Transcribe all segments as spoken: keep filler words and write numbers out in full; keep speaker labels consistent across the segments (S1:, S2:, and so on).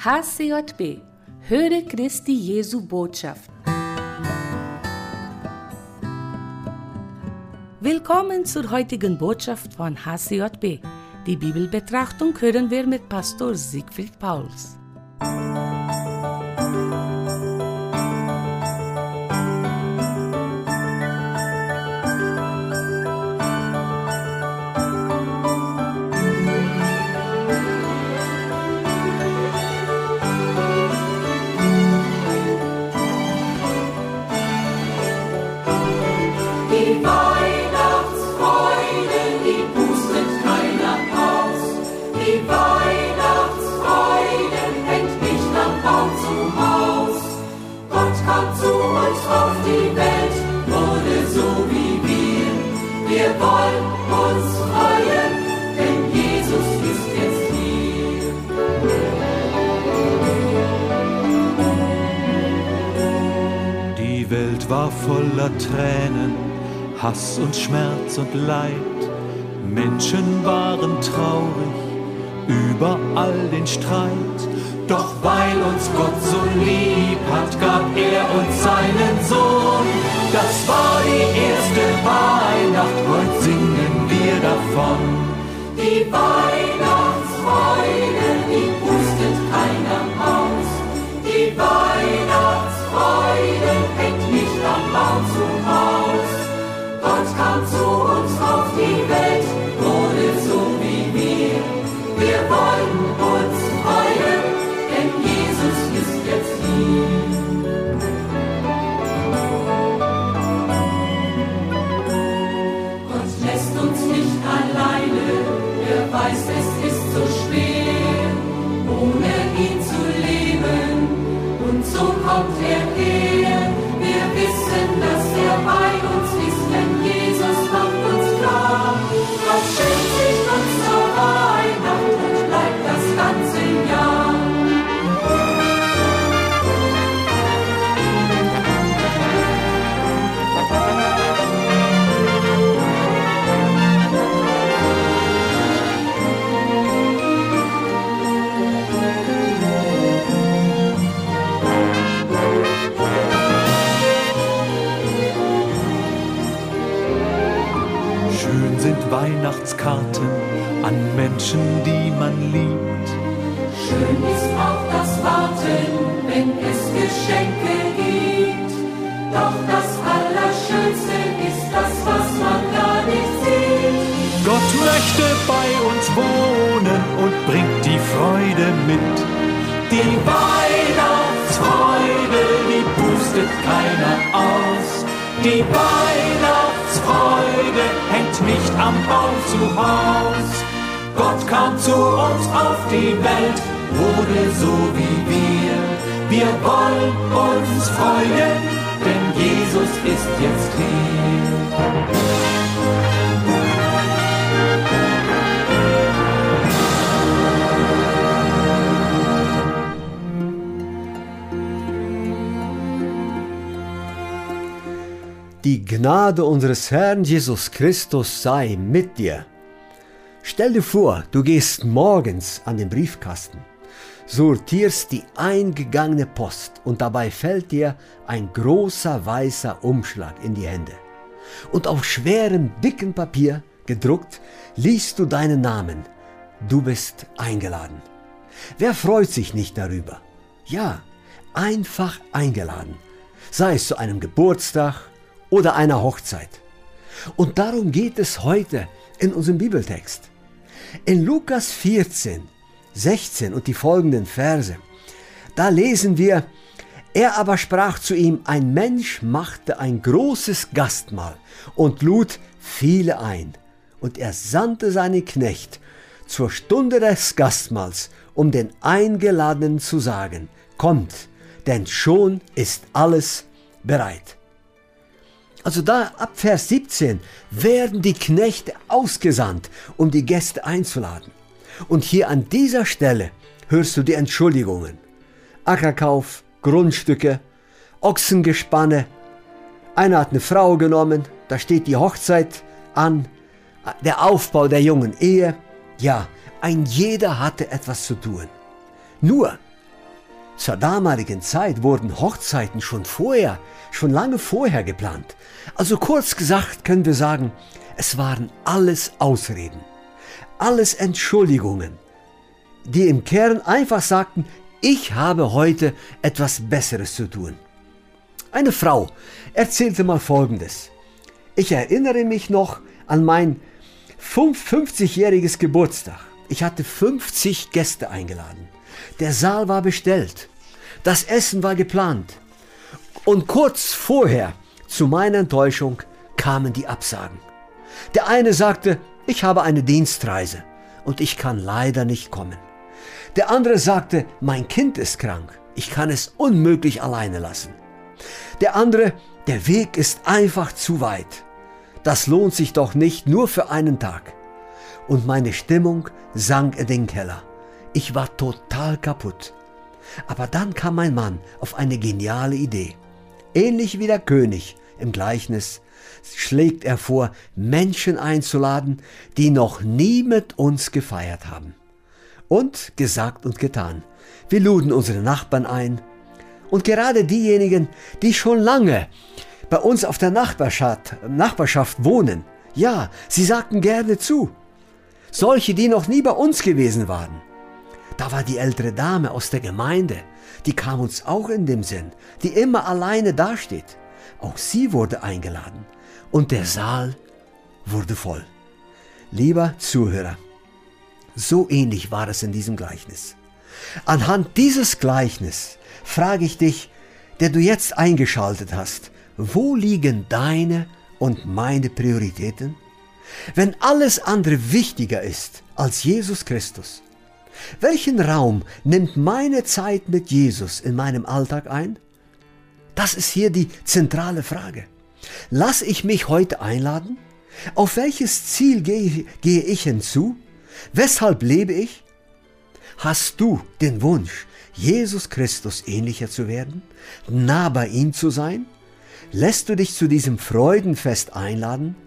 S1: H C J B, Höre Christi Jesu Botschaft. Willkommen zur heutigen Botschaft von H C J B. Die Bibelbetrachtung hören wir mit Pastor Siegfried Pauls.
S2: Die Weihnachtsfreude, die pustet keiner aus. Die Weihnachtsfreude hängt nicht am Baum zum Haus. Gott kam zu uns auf die Welt, wurde so wie wir. Wir wollen uns freuen, denn Jesus ist jetzt hier.
S3: Die Welt war voller Tränen, Hass und Schmerz und Leid. Menschen waren traurig, überall den Streit. Doch weil uns Gott so lieb hat, gab er uns seinen Sohn. Das war die erste Weihnacht, heute singen wir davon.
S2: Die Weihnachtsfreude, die pustet keiner aus. Die Weihnachtsfreude hängt nicht am Baum zum Haus. Gott kam zu uns auf die Welt, wurde so wie wir. Wir wollen uns freuen, denn Jesus ist jetzt hier. Gott lässt uns nicht alleine, er weiß, es ist so schwer, ohne ihn zu leben. Und so kommt er her. Wir wissen, dass er bei uns ist, denn Jesus macht uns klar. Gott schenkt sich uns zur Weihnacht und bleibt das ganze Jahr.
S3: Schön sind Weihnachtskarten an Menschen, die man liebt.
S2: Schön ist auch das Warten, wenn es Geschenke gibt. Doch das Allerschönste ist das, was man gar nicht sieht.
S3: Gott möchte bei uns wohnen und bringt die Freude mit. Die Weihnachtsfreude, die pustet keiner aus. Die Weihnachtsfreude hängt nicht am Baum zu Haus. Gott kam zu uns auf die Welt, wurde so wie wir. Wir wollen uns freuen, denn Jesus ist jetzt hier.
S4: Die Gnade unseres Herrn Jesus Christus sei mit dir. Stell dir vor, du gehst morgens an den Briefkasten, sortierst die eingegangene Post und dabei fällt dir ein großer weißer Umschlag in die Hände. Und auf schwerem, dicken Papier gedruckt liest du deinen Namen. Du bist eingeladen. Wer freut sich nicht darüber? Ja, einfach eingeladen. Sei es zu einem Geburtstag oder einer Hochzeit. Und darum geht es heute in unserem Bibeltext. In Lukas vierzehn, sechzehn und die folgenden Verse, da lesen wir: Er aber sprach zu ihm, ein Mensch machte ein großes Gastmahl und lud viele ein. Und er sandte seinen Knecht zur Stunde des Gastmahls, um den Eingeladenen zu sagen: Kommt, denn schon ist alles bereit. Also da ab Vers siebzehn werden die Knechte ausgesandt, um die Gäste einzuladen. Und hier an dieser Stelle hörst du die Entschuldigungen. Ackerkauf, Grundstücke, Ochsengespanne. Einer hat eine Frau genommen, da steht die Hochzeit an, der Aufbau der jungen Ehe. Ja, ein jeder hatte etwas zu tun. Nur, Zur damaligen Zeit wurden Hochzeiten schon vorher, schon lange vorher geplant. Also kurz gesagt können wir sagen, es waren alles Ausreden, alles Entschuldigungen, die im Kern einfach sagten, ich habe heute etwas Besseres zu tun. Eine Frau erzählte mal Folgendes. Ich erinnere mich noch an mein fünfzigjähriges Geburtstag. Ich hatte fünfzig Gäste eingeladen. Der Saal war bestellt. Das Essen war geplant. Und kurz vorher, zu meiner Enttäuschung, kamen die Absagen. Der eine sagte, ich habe eine Dienstreise und ich kann leider nicht kommen. Der andere sagte, mein Kind ist krank, ich kann es unmöglich alleine lassen. Der andere, der Weg ist einfach zu weit. Das lohnt sich doch nicht nur für einen Tag. Und meine Stimmung sank in den Keller. Ich war total kaputt. Aber dann kam mein Mann auf eine geniale Idee. Ähnlich wie der König im Gleichnis schlägt er vor, Menschen einzuladen, die noch nie mit uns gefeiert haben. Und gesagt und getan. Wir luden unsere Nachbarn ein. Und gerade diejenigen, die schon lange bei uns auf der Nachbarschaft, Nachbarschaft wohnen, ja, sie sagten gerne zu. Solche, die noch nie bei uns gewesen waren. Da war die ältere Dame aus der Gemeinde, die kam uns auch in den Sinn, die immer alleine dasteht. Auch sie wurde eingeladen und der Saal wurde voll. Lieber Zuhörer, so ähnlich war es in diesem Gleichnis. Anhand dieses Gleichnisses frage ich dich, der du jetzt eingeschaltet hast, wo liegen deine und meine Prioritäten? Wenn alles andere wichtiger ist als Jesus Christus, welchen Raum nimmt meine Zeit mit Jesus in meinem Alltag ein? Das ist hier die zentrale Frage. Lass ich mich heute einladen? Auf welches Ziel gehe, gehe ich hinzu? Weshalb lebe ich? Hast du den Wunsch, Jesus Christus ähnlicher zu werden, nah bei ihm zu sein? Lässt du dich zu diesem Freudenfest einladen,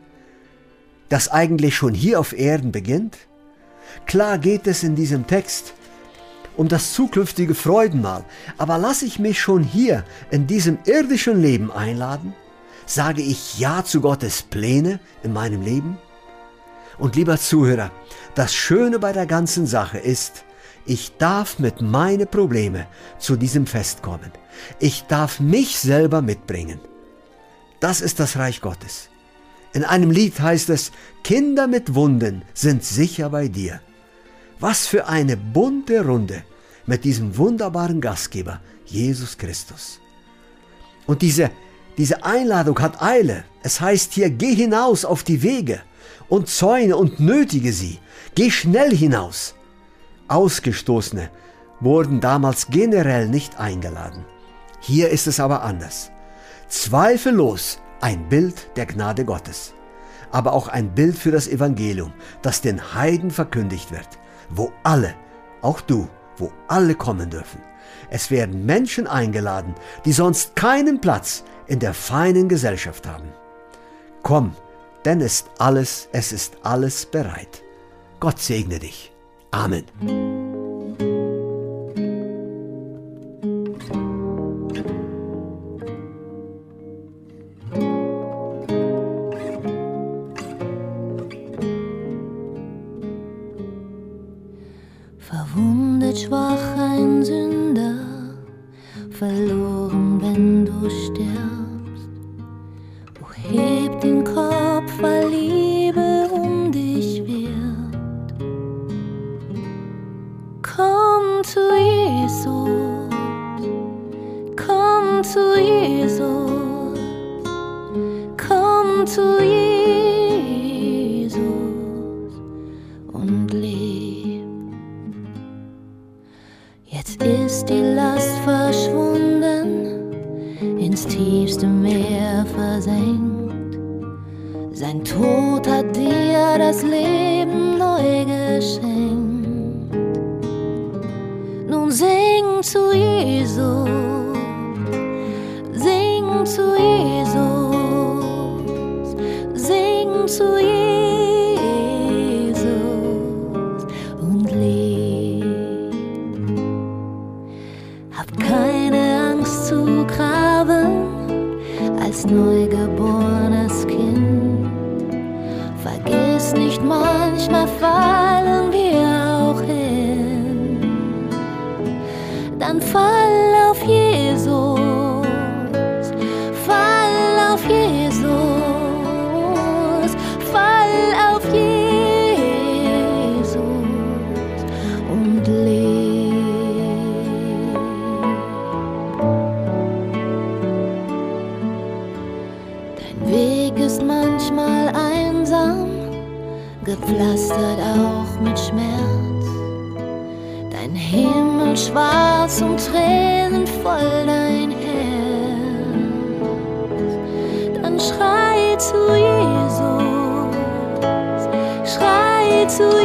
S4: das eigentlich schon hier auf Erden beginnt? Klar geht es in diesem Text um das zukünftige Freudenmahl, aber lasse ich mich schon hier in diesem irdischen Leben einladen? Sage ich Ja zu Gottes Pläne in meinem Leben? Und lieber Zuhörer, das Schöne bei der ganzen Sache ist, ich darf mit meinen Problemen zu diesem Fest kommen. Ich darf mich selber mitbringen. Das ist das Reich Gottes. In einem Lied heißt es, Kinder mit Wunden sind sicher bei dir. Was für eine bunte Runde mit diesem wunderbaren Gastgeber, Jesus Christus. Und diese, diese Einladung hat Eile. Es heißt hier, geh hinaus auf die Wege und zäune und nötige sie. Geh schnell hinaus. Ausgestoßene wurden damals generell nicht eingeladen. Hier ist es aber anders. Zweifellos ein Bild der Gnade Gottes, aber auch ein Bild für das Evangelium, das den Heiden verkündigt wird, wo alle, auch du, wo alle kommen dürfen. Es werden Menschen eingeladen, die sonst keinen Platz in der feinen Gesellschaft haben. Komm, denn ist alles, es ist alles bereit. Gott segne dich. Amen.
S5: Verwundet, schwach, ein Sünder, verloren, wenn du stirbst. O heb den Kopf, weil Liebe um dich wird. Komm zu Jesus, komm zu Jesus, komm zu Jesus und leb. Jetzt ist die Last verschwunden, ins tiefste Meer versenkt. Sein Tod hat dir das Leben neu geschenkt. Nun sing zu Jesus, sing zu Jesus, sing zu Jesus und leb. Hab Vergiss nicht, manchmal fallen wir auch hin. Dann fall auf Jesus, fall auf Jesus, fall auf Jesus und leb. Dein Weg ist manchmal einsam, gepflastert auch mit Schmerz. Dein Himmel schwarz und Tränen voll dein Herz. Dann schrei zu Jesus, schrei zu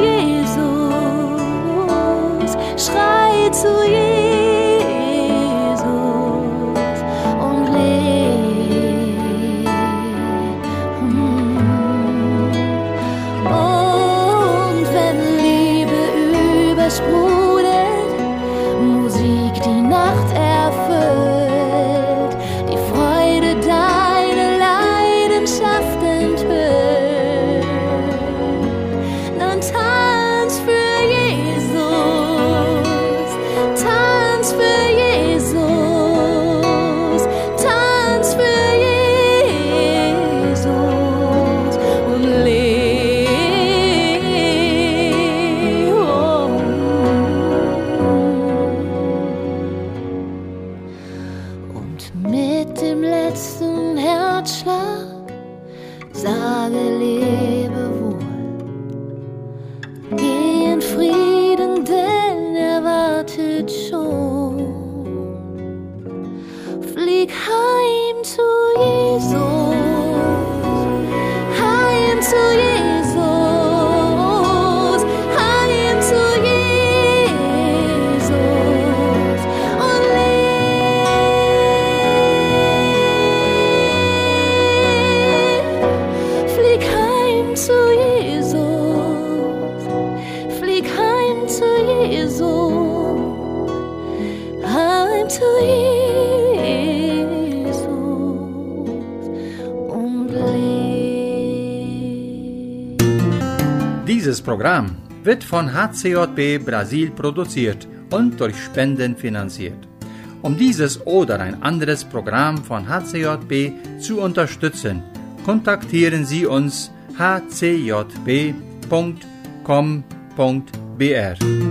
S5: Jesus, schrei zu Jesus und leb. Und wenn Liebe übersprudelt, Musik die Nacht erfüllt, die Freude deine Leidenschaft enthüllt, dann tanz für Jesus, tanz für Jesus, tanz für Jesus und leb. Und mit dem letzten Herzschlag sage Lebewohl. Geh in Frieden, denn er wartet schon. Flieg heim zu Jesus, heim zu Jesus, heim zu Jesus und leb. Flieg heim zu Jesus, flieg heim zu Jesus, heim zu Jesus und leb.
S6: Dieses Programm wird von H C J B Brasil produziert und durch Spenden finanziert. Um dieses oder ein anderes Programm von H C J B zu unterstützen, kontaktieren Sie uns h c j b punkt com punkt b r.